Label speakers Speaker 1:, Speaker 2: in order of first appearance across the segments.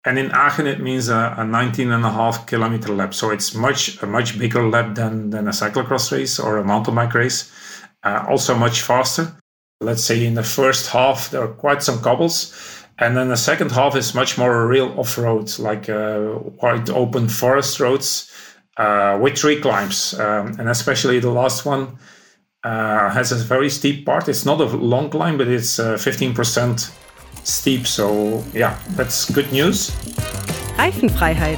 Speaker 1: And in Aachen, it means a 19.5 kilometer lap. So it's a much bigger lap than a cyclocross race or a mountain bike race. Also much faster. Let's say in the first half, there are quite some cobbles. And then the second half is much more real off-road, like wide open forest roads with tree climbs. And especially the last one has a very steep part. It's not a long climb, but it's 15% steep. So yeah, that's good news.
Speaker 2: Reifenfreiheit.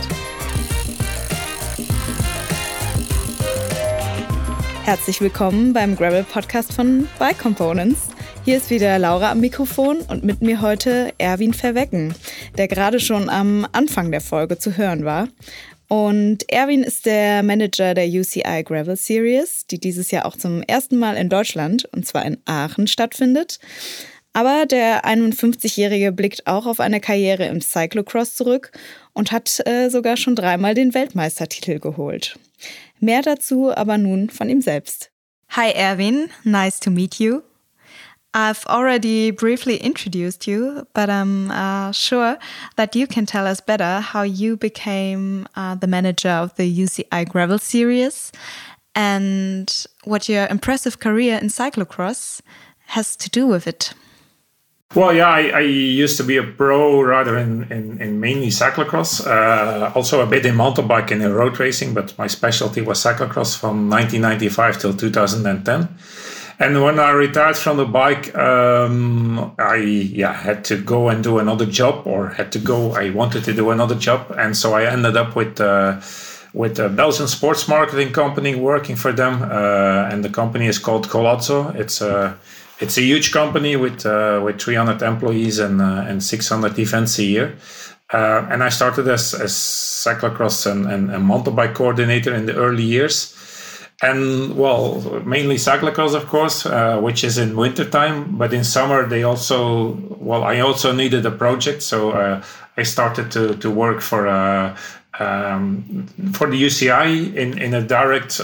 Speaker 2: Herzlich willkommen beim Gravel-Podcast von Bike Components. Hier ist wieder Laura am Mikrofon und mit mir heute Erwin Verwecken, der gerade schon am Anfang der Folge zu hören war. Und Erwin ist der Manager der UCI Gravel Series, die dieses Jahr auch zum ersten Mal in Deutschland, und zwar in Aachen, stattfindet. Aber der 51-Jährige blickt auch auf eine Karriere im Cyclocross zurück und hat sogar schon 3-mal den Weltmeistertitel geholt. Mehr dazu aber nun von ihm selbst. Hi Erwin, nice to meet you. I've already briefly introduced you, but I'm sure that you can tell us better how you became the manager of the UCI Gravel Series and what your impressive career in cyclocross has to do with it.
Speaker 1: Well, yeah, I used to be a pro rider in mainly cyclocross, also a bit in mountain bike and in road racing, but my specialty was cyclocross from 1995 till 2010. And when I retired from the bike, I had to go and do another job, I wanted to do another job. And so I ended up with a Belgian sports marketing company working for them. And the company is called Golazzo. It's a huge company with 300 employees and 600 events a year. And I started as cyclocross and mountain bike coordinator in the early years. And well, mainly cyclocross, of course, which is in wintertime. But in summer, I also needed a project. So I started to work for the UCI in a direct...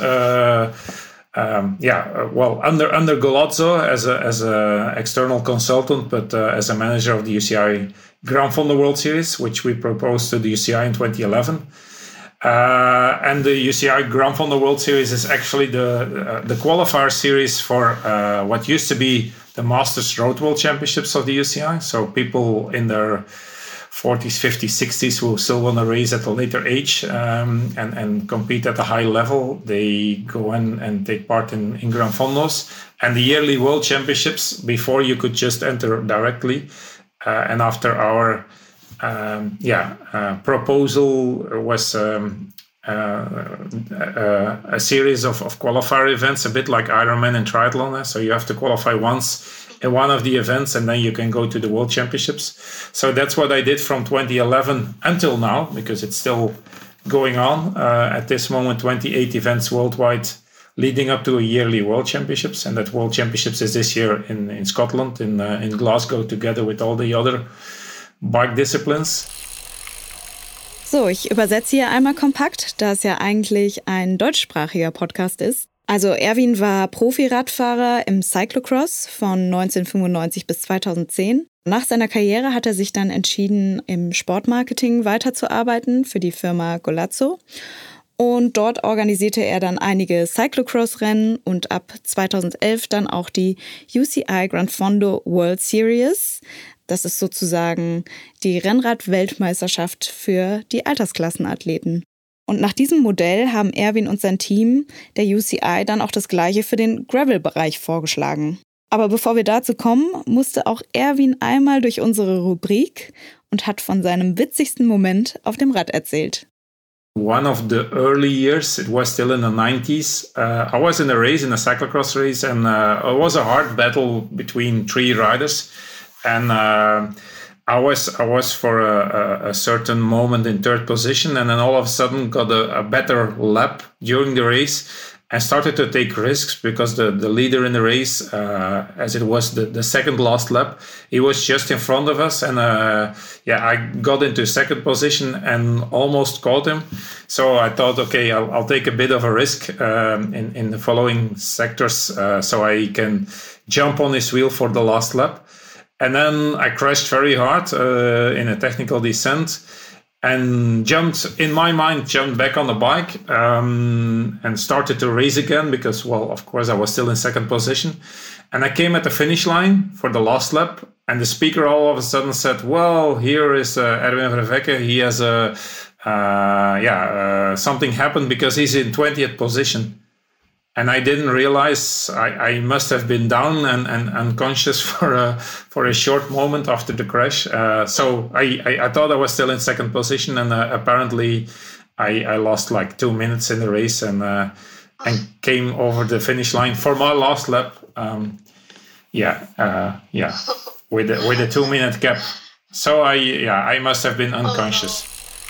Speaker 1: under Golazzo as a external consultant, but as a manager of the UCI Grand Fondo World Series, which we proposed to the UCI in 2011. And the UCI Grand Fondo World Series is actually the qualifier series for what used to be the Masters Road World Championships of the UCI. So people in their 40s, 50s, 60s who still want to race at a later age and compete at a high level, they go in and take part in Gran Fondos. And the yearly World Championships, before you could just enter directly. And after our proposal was a series of qualifier events, a bit like Ironman and triathlon. So you have to qualify once in one of the events, and then you can go to the World Championships. So that's what I did from 2011 until now, because it's still going on. At this moment, 28 events worldwide leading up to a yearly World Championships. And that World Championships is this year in Scotland, in Glasgow, together with all the other bike disciplines.
Speaker 2: So, ich übersetze hier einmal kompakt, da es ja eigentlich ein deutschsprachiger Podcast ist. Also Erwin war Profi-Radfahrer im Cyclocross von 1995 bis 2010. Nach seiner Karriere hat er sich dann entschieden, im Sportmarketing weiterzuarbeiten für die Firma Golazzo. Und dort organisierte er dann einige Cyclocross-Rennen und ab 2011 dann auch die UCI Grand Fondo World Series. Das ist sozusagen die Rennrad-Weltmeisterschaft für die Altersklassenathleten. Und nach diesem Modell haben Erwin und sein Team der UCI dann auch das Gleiche für den Gravel-Bereich vorgeschlagen. Aber bevor wir dazu kommen, musste auch Erwin einmal durch unsere Rubrik und hat von seinem witzigsten Moment auf dem Rad erzählt.
Speaker 1: One of the early years, it was still in the 90s, I was in a cyclocross race, and it was a hard battle between 3 riders. And I was for a certain moment in 3rd position, and then all of a sudden got a better lap during the race and started to take risks because the leader in the race, as it was the second last lap, he was just in front of us. And I got into 2nd position and almost caught him. So I thought, okay, I'll take a bit of a risk in the following sectors so I can jump on his wheel for the last lap. And then I crashed very hard in a technical descent. and jumped back on the bike and started to race again because, well, of course, I was still in second position. And I came at the finish line for the last lap, and the speaker all of a sudden said, well, here is Erwin Verwecke. He has something happened because he's in 20th position. And I didn't realize I must have been down and unconscious for a short moment after the crash. So I thought I was still in second position, and apparently I lost like 2 minutes in the race and came over the finish line for my last lap. With a 2-minute gap. So I must have been unconscious.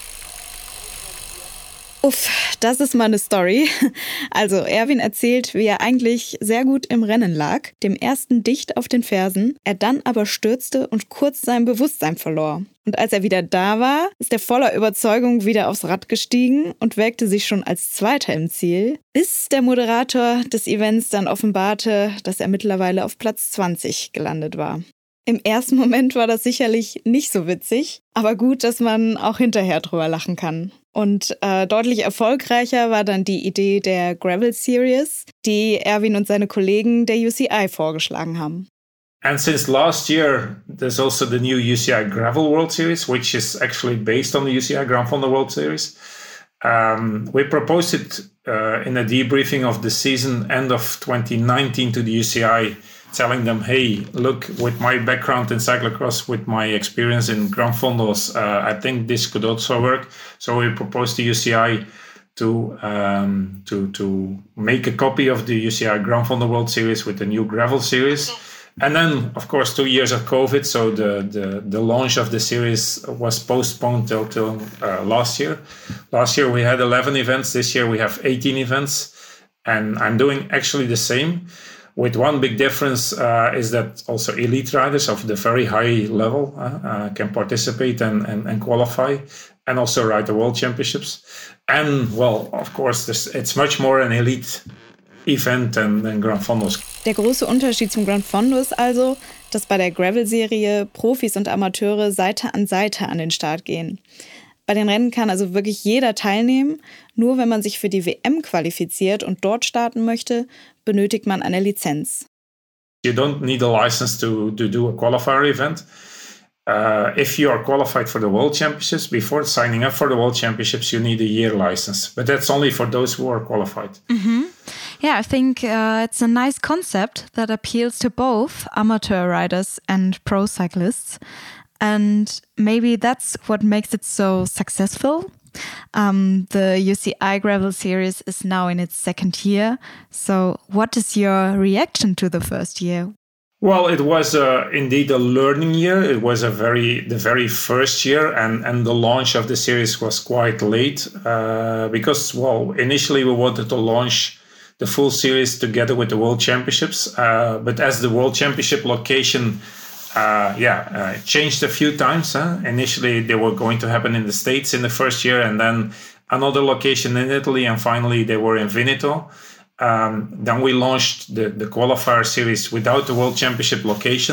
Speaker 2: Uff, das ist mal eine Story. Also Erwin erzählt, wie er eigentlich sehr gut im Rennen lag, dem ersten dicht auf den Fersen, er dann aber stürzte und kurz sein Bewusstsein verlor. Und als er wieder da war, ist er voller Überzeugung wieder aufs Rad gestiegen und wägte sich schon als Zweiter im Ziel, bis der Moderator des Events dann offenbarte, dass er mittlerweile auf Platz 20 gelandet war. Im ersten Moment war das sicherlich nicht so witzig, aber gut, dass man auch hinterher drüber lachen kann. Und deutlich erfolgreicher war dann die Idee der Gravel Series, die Erwin und seine Kollegen der UCI vorgeschlagen haben.
Speaker 1: And since last year, there's also the new UCI Gravel World Series, which is actually based on the UCI Grand Fondo World Series. We proposed it in a debriefing of the season end of 2019 to the UCI, telling them, hey, look, with my background in cyclocross, with my experience in Grand Fondos, I think this could also work. So we proposed to UCI to make a copy of the UCI Grand Fondo World Series with the new gravel series. And then, of course, 2 years of COVID, so the launch of the series was postponed till last year. Last year we had 11 events. This year we have 18 events. And I'm doing actually the same. With one big difference is that also elite riders of the very high level can participate and qualify and also ride the World Championships. And, well, of course, it's much more an elite event than Grand Fondos.
Speaker 2: Der große Unterschied zum Grand Fondo ist also, dass bei der Gravel-Serie Profis und Amateure Seite an den Start gehen. Bei den Rennen kann also wirklich jeder teilnehmen. Nur wenn man sich für die WM qualifiziert und dort starten möchte, benötigt man eine Lizenz.
Speaker 1: You don't need a license to do a qualifier event. If you are qualified for the World Championships, before signing up for the World Championships, you need a year license. But that's only for those who are qualified.
Speaker 3: Mm-hmm. Yeah, I think it's a nice concept that appeals to both amateur riders and pro cyclists. And maybe that's what makes it so successful. The UCI Gravel Series is now in its second year. So what is your reaction to the first year?
Speaker 1: Well, it was indeed a learning year. It was the very first year, and the launch of the series was quite late because, well, initially we wanted to launch the full series together with the World Championships. But as the World Championship location changed a few times. Initially, they were going to happen in the States in the first year, and then another location in Italy, and finally they were in Veneto. Then we launched the qualifier series without the World Championship location.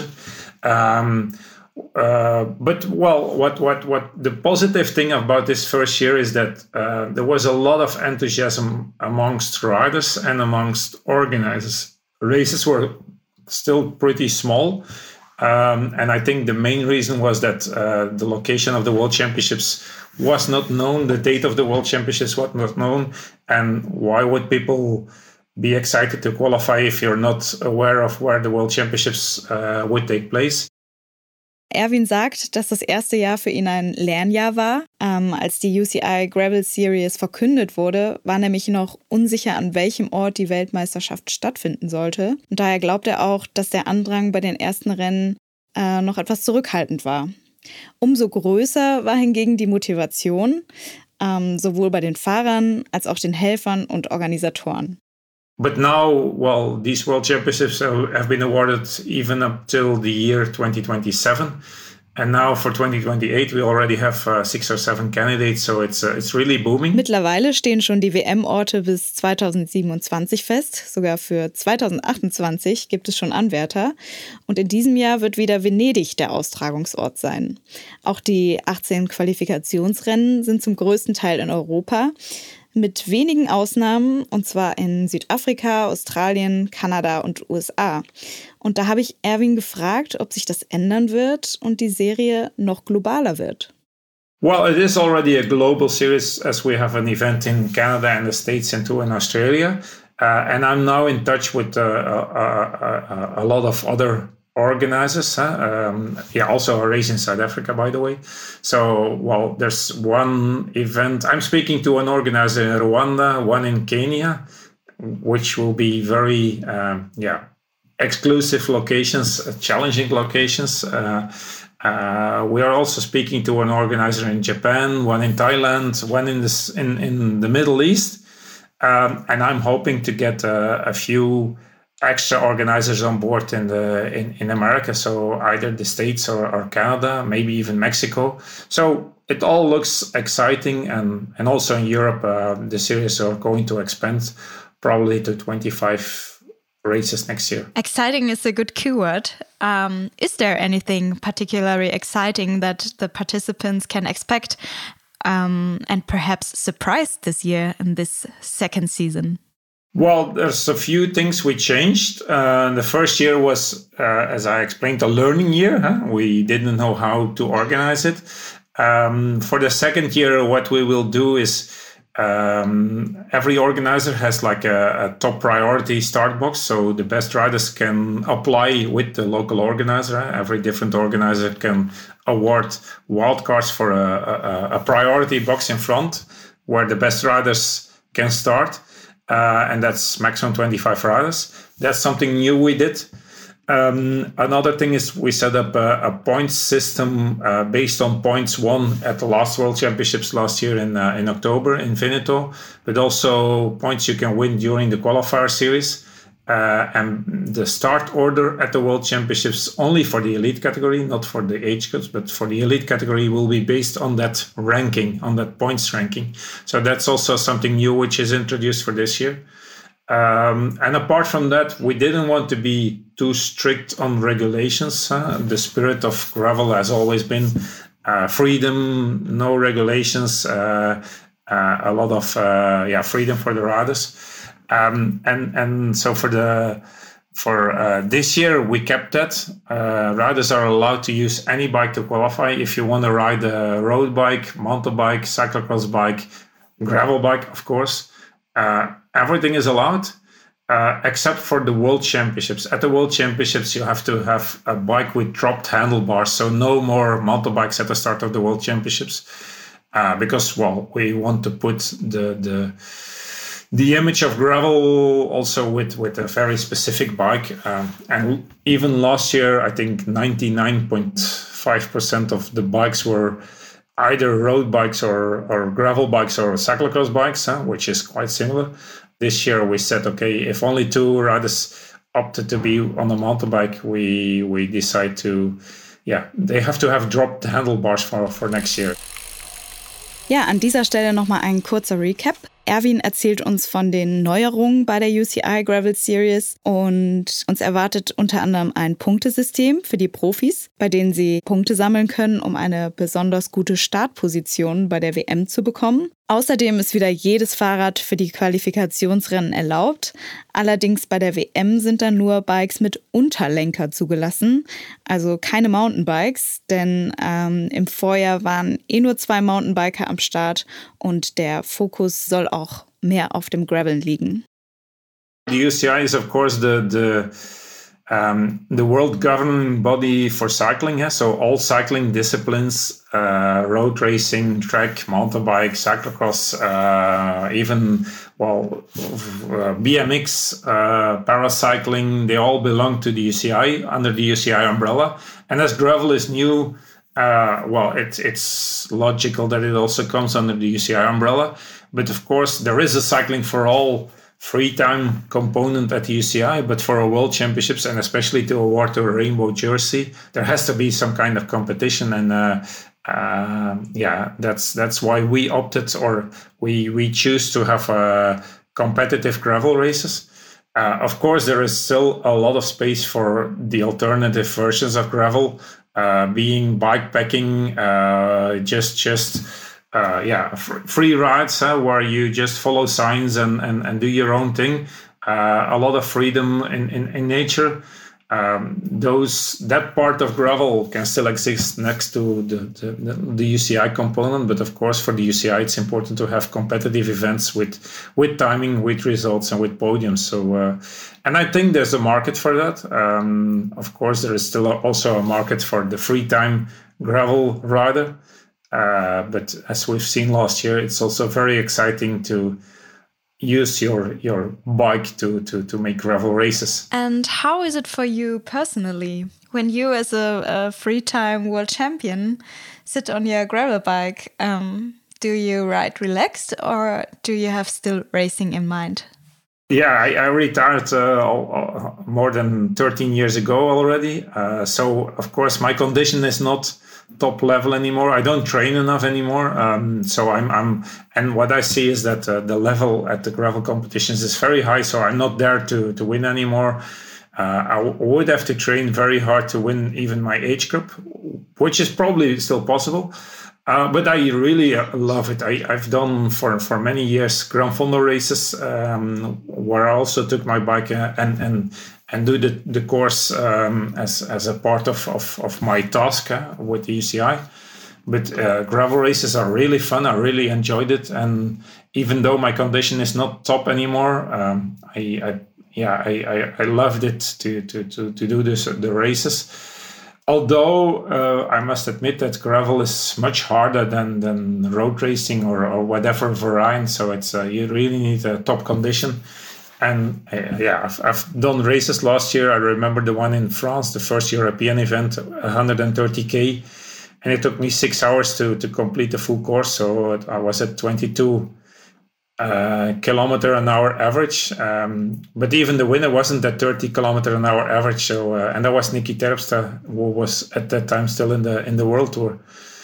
Speaker 1: But what the positive thing about this first year is that there was a lot of enthusiasm amongst riders and amongst organizers. Races were still pretty small. And I think the main reason was that the location of the World Championships was not known. The date of the World Championships was not known. And why would people be excited to qualify if you're not aware of where the World Championships would take place?
Speaker 2: Erwin sagt, dass das erste Jahr für ihn ein Lernjahr war. Als die UCI Gravel Series verkündet wurde, war nämlich noch unsicher, an welchem Ort die Weltmeisterschaft stattfinden sollte. Und daher glaubt er auch, dass der Andrang bei den ersten Rennen noch etwas zurückhaltend war. Umso größer war hingegen die Motivation, sowohl bei den Fahrern als auch den Helfern und Organisatoren.
Speaker 1: But now, well, these World Championships have been awarded even up till the year 2027. And now for 2028, we already have 6 or 7 candidates, so it's really booming.
Speaker 2: Mittlerweile stehen schon die WM-Orte bis 2027 fest. Sogar für 2028 gibt es schon Anwärter. Und in diesem Jahr wird wieder Venedig der Austragungsort sein. Auch die 18 Qualifikationsrennen sind zum größten Teil in Europa. Mit wenigen Ausnahmen, und zwar in Südafrika, Australien, Kanada und USA. Und da habe ich Erwin gefragt, ob sich das ändern wird und die Serie noch globaler wird.
Speaker 1: Well, it is already a global series as we have an event in Canada and the States and 2 in Australia. And I'm now in touch with a lot of other organizers. Also a race in South Africa, by the way. So, well, there's one event. I'm speaking to an organizer in Rwanda, one in Kenya, which will be very, exclusive locations, challenging locations. We are also speaking to an organizer in Japan, one in Thailand, one in the Middle East. And I'm hoping to get a few extra organizers on board in America, so either the States or Canada, maybe even Mexico. So it all looks exciting, and also in Europe, the series are going to expand probably to 25 races next year.
Speaker 3: Exciting is a good keyword. Is there anything particularly exciting that the participants can expect and perhaps surprise this year in this second season?
Speaker 1: Well, there's a few things we changed. The first year was, as I explained, a learning year. We didn't know how to organize it. For the second year, what we will do is every organizer has like a top priority start box. So the best riders can apply with the local organizer. Every different organizer can award wildcards for a priority box in front where the best riders can start. And that's maximum 25 riders. That's something new we did. Another thing is we set up a points system based on points won at the last World Championships last year in October in Veneto, but also points you can win during the qualifier series. And the start order at the World Championships only for the elite category, not for the age groups, but for the elite category will be based on that ranking, on that points ranking. So that's also something new which is introduced for this year. And apart from that, we didn't want to be too strict on regulations. The spirit of gravel has always been freedom, no regulations, a lot of freedom for the riders. And so for this year we kept that. Riders are allowed to use any bike to qualify. If you want to ride a road bike, mountain bike, cyclocross bike, gravel bike, of course, everything is allowed except for the World Championships. At the World Championships, you have to have a bike with dropped handlebars, so no more mountain bikes at the start of the World Championships, because we want to put the image of gravel also with a very specific bike. And even last year, I think 99.5% of the bikes were either road bikes or gravel bikes or cyclocross bikes, which is quite similar. This year we said, okay, if only 2 riders opted to be on a mountain bike, we decide to, they have to have dropped handlebars for next year.
Speaker 2: Ja, an dieser Stelle nochmal ein kurzer Recap. Erwin erzählt uns von den Neuerungen bei der UCI Gravel Series und uns erwartet unter anderem ein Punktesystem für die Profis, bei denen sie Punkte sammeln können, um eine besonders gute Startposition bei der WM zu bekommen. Außerdem ist wieder jedes Fahrrad für die Qualifikationsrennen erlaubt. Allerdings bei der WM sind dann nur Bikes mit Unterlenker zugelassen, also keine Mountainbikes, denn im Vorjahr waren nur 2 Mountainbiker am Start und der Fokus soll auch mehr auf dem Graveln liegen.
Speaker 1: The UCI is of course the world governing body for cycling, so all cycling disciplines, road racing, track, mountain bike, cyclocross, even BMX, paracycling, they all belong to the UCI under the UCI umbrella. And as gravel is new, it's logical that it also comes under the UCI umbrella. But of course, there is a cycling for all free time component at the UCI, but for a World Championships and especially to award a rainbow jersey, there has to be some kind of competition. And that's why we opted, or we choose to have competitive gravel races. Of course, there is still a lot of space for the alternative versions of gravel, being bikepacking, free rides where you just follow signs and do your own thing. A lot of freedom in nature. That part of gravel can still exist next to the UCI component, but of course for the UCI it's important to have competitive events with timing, with results, and with podiums. So and I think there's a market for that. Of course there is still also a market for the free time gravel rider, but as we've seen last year, it's also very exciting to use your bike to make gravel races.
Speaker 3: And how is it for you personally when you, as a free time world champion, sit on your gravel bike? Do you ride relaxed, or do you have still racing in mind?
Speaker 1: Yeah, I retired more than 13 years ago already. So of course my condition is not top level anymore. I don't train enough anymore. So and what I see is that the level at the gravel competitions is very high. So I'm not there to win anymore. I would have to train very hard to win even my age group, which is probably still possible. But I really love it. I've done for many years Gran Fondo races, where I also took my bike and do the course as a part of my task with the UCI. But gravel races are really fun. I really enjoyed it, and even though my condition is not top anymore, I loved it to do the races. Although I must admit that gravel is much harder than road racing or whatever variant, so it's you really need a top condition. And I've done races last year. I remember the one in France, the first European event, 130K, and it took me 6 hours to complete the full course. So I was at 22 kilometer an hour average, but even the winner wasn't at 30 kilometer an hour average. So and that was Nicky Terpstra, who was at that time still in the World Tour.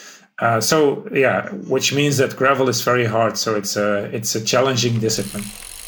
Speaker 1: Which means that gravel is very hard. So it's a challenging discipline.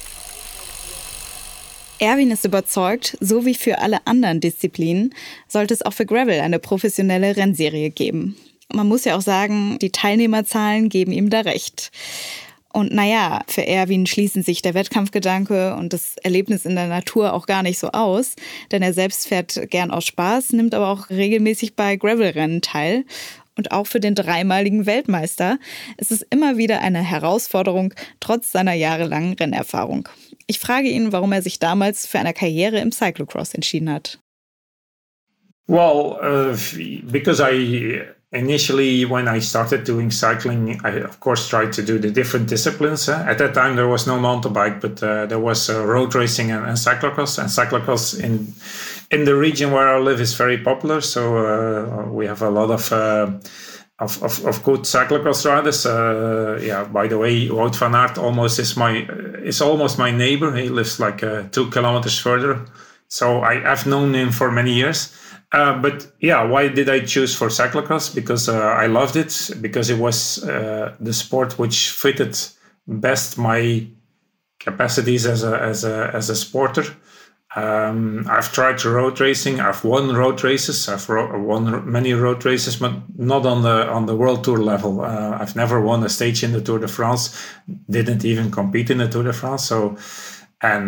Speaker 2: Erwin ist überzeugt, so wie für alle anderen Disziplinen sollte es auch für Gravel eine professionelle Rennserie geben. Man muss ja auch sagen, die Teilnehmerzahlen geben ihm da recht. Und naja, für Erwin schließen sich der Wettkampfgedanke und das Erlebnis in der Natur auch gar nicht so aus, denn er selbst fährt gern aus Spaß, nimmt aber auch regelmäßig bei Gravelrennen teil. Und auch für den dreimaligen Weltmeister ist es immer wieder eine Herausforderung, trotz seiner jahrelangen Rennerfahrung. Ich frage ihn, warum er sich damals für eine Karriere im Cyclocross entschieden hat.
Speaker 1: Well, because initially, when I started doing cycling, I, of course, tried to do the different disciplines. At that time, there was no mountain bike, but there was road racing and cyclocross. And cyclocross in the region where I live is very popular. So we have a lot of good cyclocross riders. By the way, Wout van Aert is almost my neighbor. He lives like 2 kilometers further. So I've known him for many years. Why did I choose for cyclocross? Because I loved it, because it was the sport which fitted best my capacities as a sporter. I've tried road racing. I've won road races. I've won many road races, but not on the World Tour level. I've never won a stage in the Tour de France. Didn't even compete in the Tour de France. So. And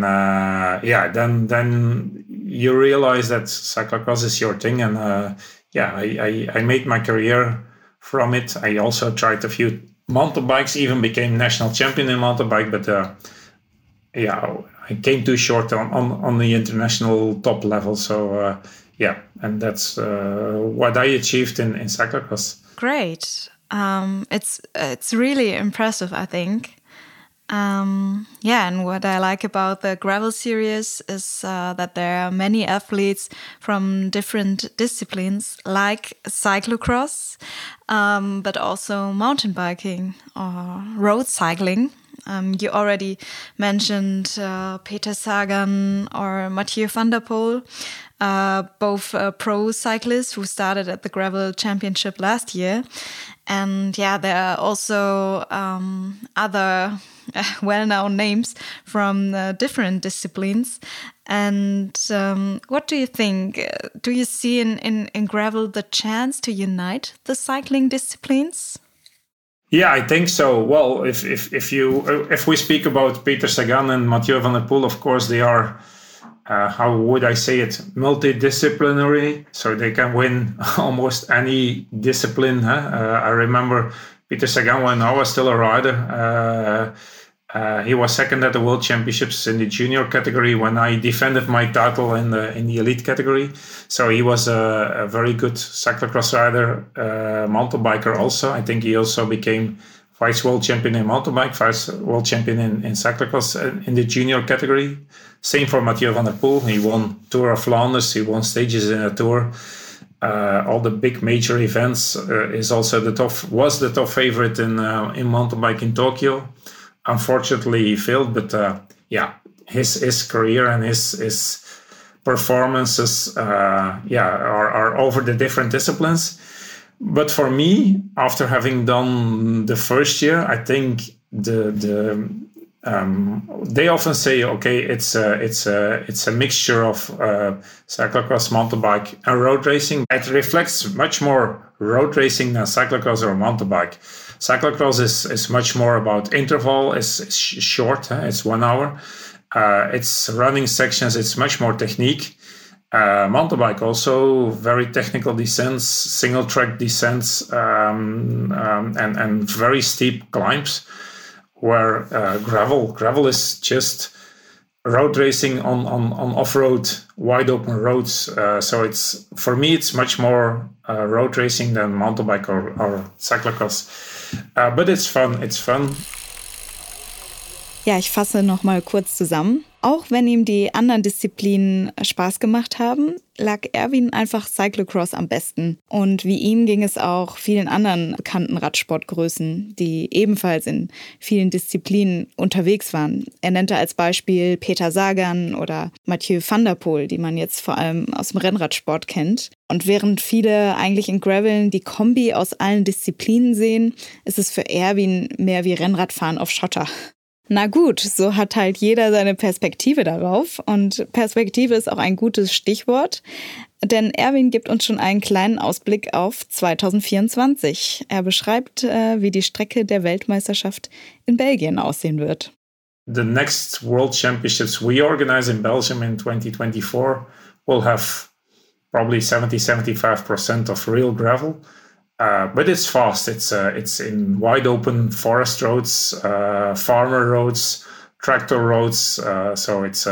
Speaker 1: then you realize that cyclocross is your thing, and I made my career from it. I also tried a few mountain bikes, even became national champion in mountain bike, but I came too short on the international top level. So and that's what I achieved in cyclocross.
Speaker 3: Great, it's really impressive, I think. And what I like about the gravel series is that there are many athletes from different disciplines, like cyclocross, but also mountain biking or road cycling. You already mentioned Peter Sagan or Mathieu van der Poel, both pro cyclists who started at the Gravel Championship last year. And yeah, there are also other well-known names from different disciplines. And what do you think? Do you see in gravel the chance to unite the cycling disciplines?
Speaker 1: Yeah, I think so. Well, if we speak about Peter Sagan and Mathieu van der Poel, of course they are, how would I say it, multidisciplinary, so they can win almost any discipline. I remember Peter Sagan when I was still a rider. He was second at the World Championships in the junior category when I defended my title in the elite category. So he was a very good cyclocross rider, mountain biker also. I think he also became vice world champion in mountain bike, vice world champion in cyclocross in the junior category. Same for Mathieu van der Poel. He won Tour of Flanders. He won stages in a Tour. All the big major events. Was the top favorite in mountain bike in Tokyo. Unfortunately, he failed, but his career and his performances, are over the different disciplines. But for me, after having done the first year, I think they often say, okay, it's a mixture of cyclocross, mountain bike, and road racing. It reflects much more road racing than cyclocross or mountain bike. Cyclocross is much more about interval. It's short. It's 1 hour. It's running sections. It's much more technique. Mountain bike also very technical descents, single track descents, and very steep climbs. Where gravel is just road racing on off-road, wide open roads. So for me it's much more road racing than mountain bike or cyclocross. But it's fun.
Speaker 2: Ja, ich fasse noch mal kurz zusammen. Auch wenn ihm die anderen Disziplinen Spaß gemacht haben, lag Erwin einfach Cyclocross am besten. Und wie ihm ging es auch vielen anderen bekannten Radsportgrößen, die ebenfalls in vielen Disziplinen unterwegs waren. Er nannte als Beispiel Peter Sagan oder Mathieu van der Poel, die man jetzt vor allem aus dem Rennradsport kennt. Und während viele eigentlich in Graveln die Kombi aus allen Disziplinen sehen, ist es für Erwin mehr wie Rennradfahren auf Schotter. Na gut, so hat halt jeder seine Perspektive darauf und Perspektive ist auch ein gutes Stichwort, denn Erwin gibt uns schon einen kleinen Ausblick auf 2024. Er beschreibt, wie die Strecke der Weltmeisterschaft in Belgien aussehen wird.
Speaker 1: The next World Championships we organize in Belgium in 2024 will have probably 70-75% of real gravel. But it's fast. It's in wide open forest roads, farmer roads, tractor roads. So it's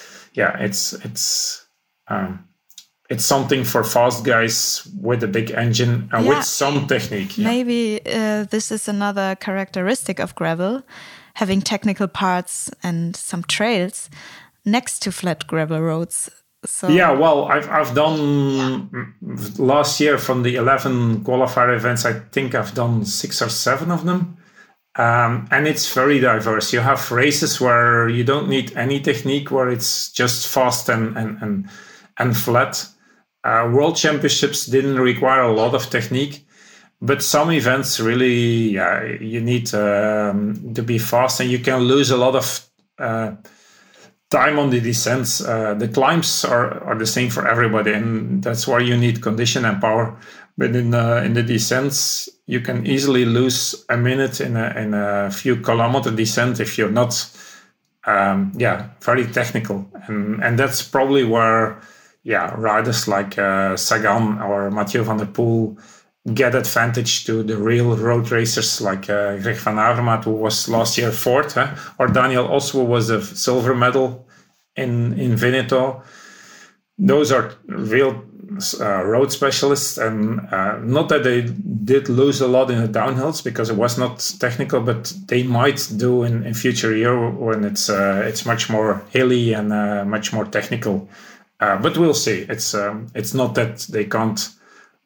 Speaker 1: something for fast guys with a big engine and with some technique. Yeah.
Speaker 3: Maybe this is another characteristic of gravel, having technical parts and some trails next to flat gravel roads. So.
Speaker 1: Yeah, well, I've done last year from the 11 qualifier events, I think I've done 6 or 7 of them. And it's very diverse. You have races where you don't need any technique, where it's just fast and flat. World Championships didn't require a lot of technique, but some events really, you need to be fast, and you can lose a lot of time on the descents. The climbs are the same for everybody, and that's why you need condition and power. But in the descents, you can easily lose a minute in a few kilometer descent if you're not, very technical. And that's probably where, riders like Sagan or Mathieu van der Poel get advantage to the real road racers like Greg van Avermaet, who was last year 4th, or Daniel Oswo was a silver medal in Veneto. Those are real road specialists, and not that they did lose a lot in the downhills because it was not technical, but they might do in future year when it's much more hilly and much more technical. But we'll see. It's not that they can't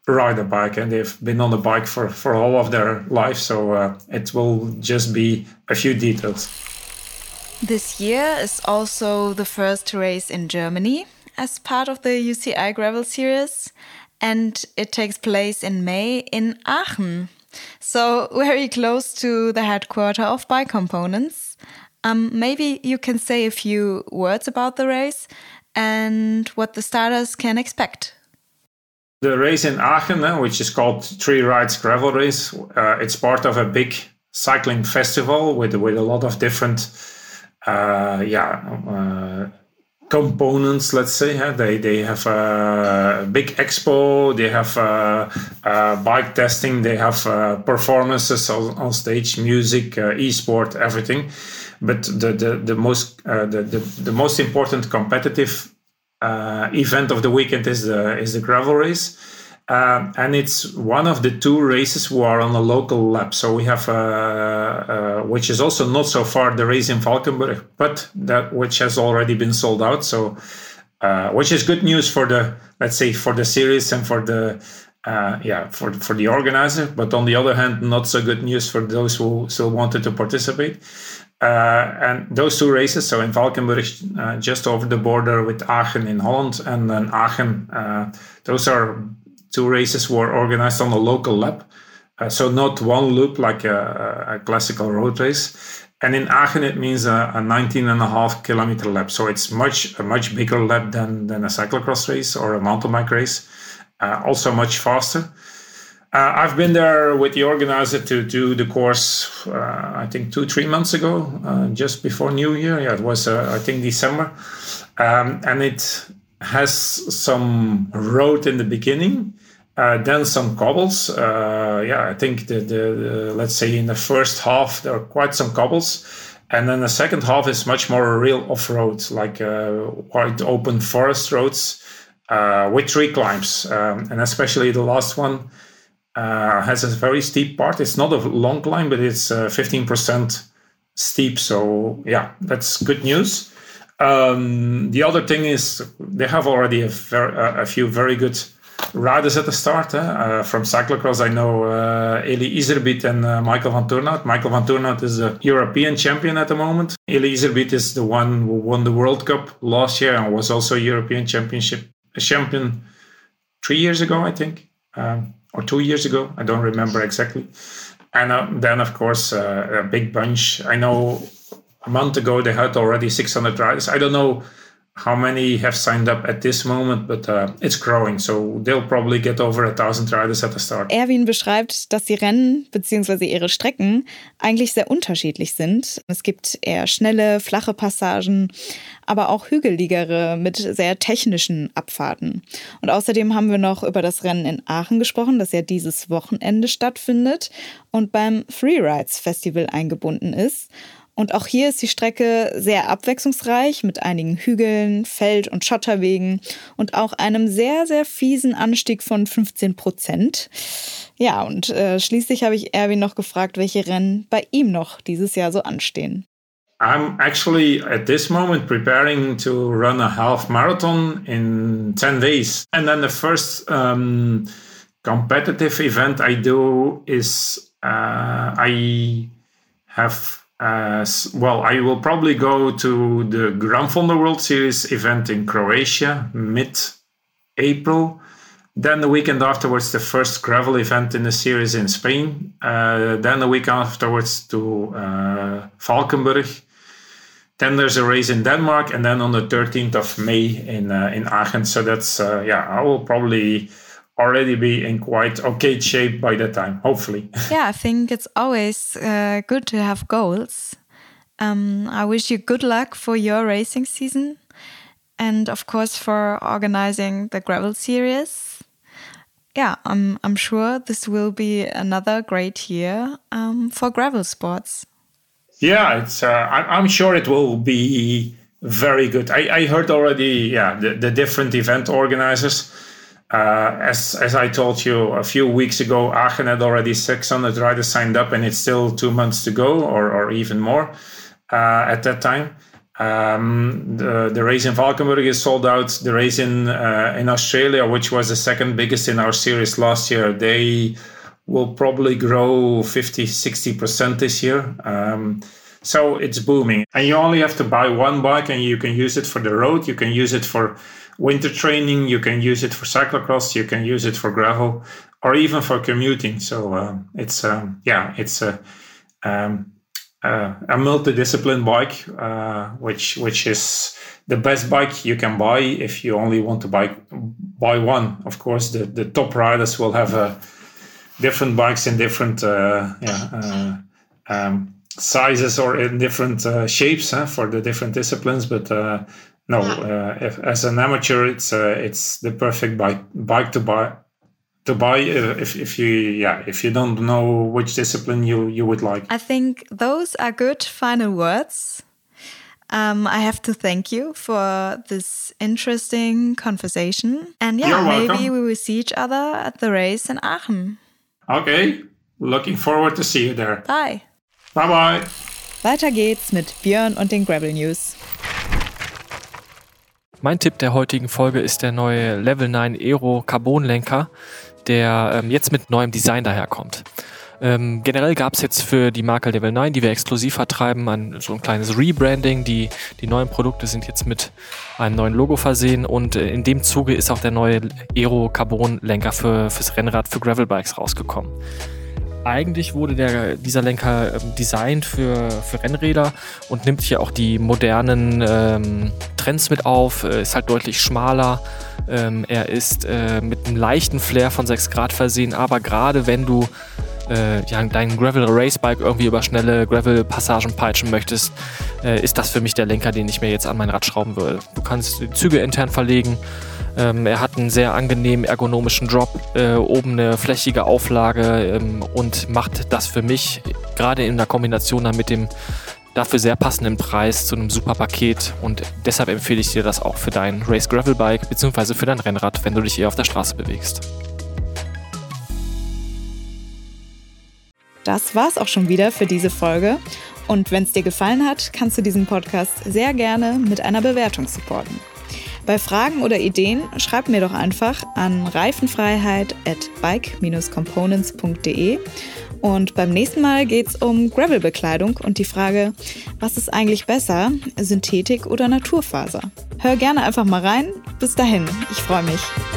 Speaker 1: ride a bike, and they've been on the bike for all of their life. So it will just be a few details.
Speaker 3: This year is also the first race in Germany as part of the UCI Gravel Series, and it takes place in May in Aachen. So very close to the headquarters of Bike Components. Maybe you can say a few words about the race and what the starters can expect.
Speaker 1: The race in Aachen, which is called Three Rides Gravel Race, it's part of a big cycling festival with a lot of different components, let's say. They have a big expo, they have bike testing, they have performances on stage, music, e-sport, everything. But the most important competitive event of the weekend is the gravel race, and it's one of the two races who are on a local lap. So we have which is also not so far the race in Valkenburg, but that which has already been sold out. So which is good news for the series and for the for the organizer. But on the other hand, not so good news for those who still wanted to participate. And those two races, so in Valkenburg, just over the border with Aachen in Holland, and then Aachen, those are two races were organized on a local lap. So not one loop like a classical road race. And in Aachen, it means a 19.5 kilometer lap. So it's a much bigger lap than a cyclocross race or a mountain bike race. Also much faster. I've been there with the organizer to do the course, I think 2-3 months ago, just before New Year. Yeah, it was, I think, December. And it has some road in the beginning, then some cobbles. I think the let's say in the first half, there are quite some cobbles. And then the second half is much more real off-road, like quite open forest roads with tree climbs. And especially the last one, has a very steep part. It's not a long climb, but it's 15% steep. So yeah, that's good news. The other thing is they have already a few very good riders at the start. From cyclocross, I know Eli Iserbyt and Michael van Turnhout. Michael van Turnhout is a European champion at the moment. Eli Iserbyt is the one who won the World Cup last year and was also a European champion 3 years ago, I think. Or 2 years ago, I don't remember exactly. And then, of course, a big bunch. I know a month ago they had already 600 riders. I don't know how many have signed up at this moment, but it's growing. So they'll probably get over 1,000 riders at the start.
Speaker 2: Erwin beschreibt, dass die Rennen bzw. ihre Strecken eigentlich sehr unterschiedlich sind. Es gibt eher schnelle, flache Passagen, aber auch hügeligere mit sehr technischen Abfahrten. Und außerdem haben wir noch über das Rennen in Aachen gesprochen, das ja dieses Wochenende stattfindet und beim Freerides Festival eingebunden ist. Und auch hier ist die Strecke sehr abwechslungsreich mit einigen Hügeln, Feld- und Schotterwegen und auch einem sehr, sehr fiesen Anstieg von 15%. Ja, und schließlich habe ich Erwin noch gefragt, welche Rennen bei ihm noch dieses Jahr so anstehen.
Speaker 1: I'm actually at this moment preparing to run a half marathon in 10 days. And then the first competitive event I do is I will probably go to the Gran Fondo World Series event in Croatia, mid-April. Then the weekend afterwards, the first gravel event in the series in Spain. Then the week afterwards to Valkenburg. Then there's a race in Denmark. And then on the 13th of May in Aachen. So that's, I will probably already be in quite okay shape by that time, hopefully.
Speaker 3: Yeah, I think it's always good to have goals. I wish you good luck for your racing season and of course for organizing the gravel series. Yeah, I'm sure this will be another great year for gravel sports.
Speaker 1: Yeah, it's. I'm sure it will be very good. I heard already. Yeah, the different event organizers. As I told you a few weeks ago, Aachen had already 600 riders signed up, and it's still 2 months to go, or even more at that time. The race in Valkenburg is sold out. The race in Australia, which was the second biggest in our series last year, they will probably grow 50-60% this year. So it's booming. And you only have to buy one bike, and you can use it for the road. You can use it for winter training. You can use it for cyclocross. You can use it for gravel, or even for commuting. So it's a multidiscipline bike, which is the best bike you can buy if you only want to buy one. Of course, the top riders will have different bikes in different sizes or in different shapes for the different disciplines. But as an amateur, it's the perfect bike to buy. If you don't know which discipline you would like.
Speaker 3: I think those are good final words. I have to thank you for this interesting conversation. And maybe we will see each other at the race in Aachen.
Speaker 1: Okay, looking forward to see you there.
Speaker 3: Bye.
Speaker 1: Bye-bye.
Speaker 2: Weiter geht's mit Björn und den Gravel News.
Speaker 4: Mein Tipp der heutigen Folge ist der neue Level 9 Aero Carbon-Lenker, der jetzt mit neuem Design daherkommt. Generell gab es jetzt für die Marke Level 9, die wir exklusiv vertreiben, so ein kleines Rebranding. Die neuen Produkte sind jetzt mit einem neuen Logo versehen und in dem Zuge ist auch der neue Aero Carbon-Lenker fürs Rennrad, für Gravelbikes rausgekommen. Eigentlich wurde dieser Lenker designt für Rennräder und nimmt hier auch die modernen Trends mit auf, ist halt deutlich schmaler. Er ist mit einem leichten Flair von 6 Grad versehen, aber gerade wenn du dein Gravel-Racebike irgendwie über schnelle Gravel-Passagen peitschen möchtest, ist das für mich der Lenker, den ich mir jetzt an mein Rad schrauben würde. Du kannst die Züge intern verlegen. Er hat einen sehr angenehmen ergonomischen Drop, oben eine flächige Auflage und macht das für mich gerade in der Kombination dann mit dem dafür sehr passenden Preis zu einem super Paket, und deshalb empfehle ich dir das auch für dein Race Gravel Bike bzw. für dein Rennrad, wenn du dich eher auf der Straße bewegst.
Speaker 2: Das war's auch schon wieder für diese Folge. Und wenn es dir gefallen hat, kannst du diesen Podcast sehr gerne mit einer Bewertung supporten. Bei Fragen oder Ideen schreib mir doch einfach an reifenfreiheit@bike-components.de. Und beim nächsten Mal geht's um Gravelbekleidung und die Frage, was ist eigentlich besser, Synthetik oder Naturfaser? Hör gerne einfach mal rein. Bis dahin, ich freue mich.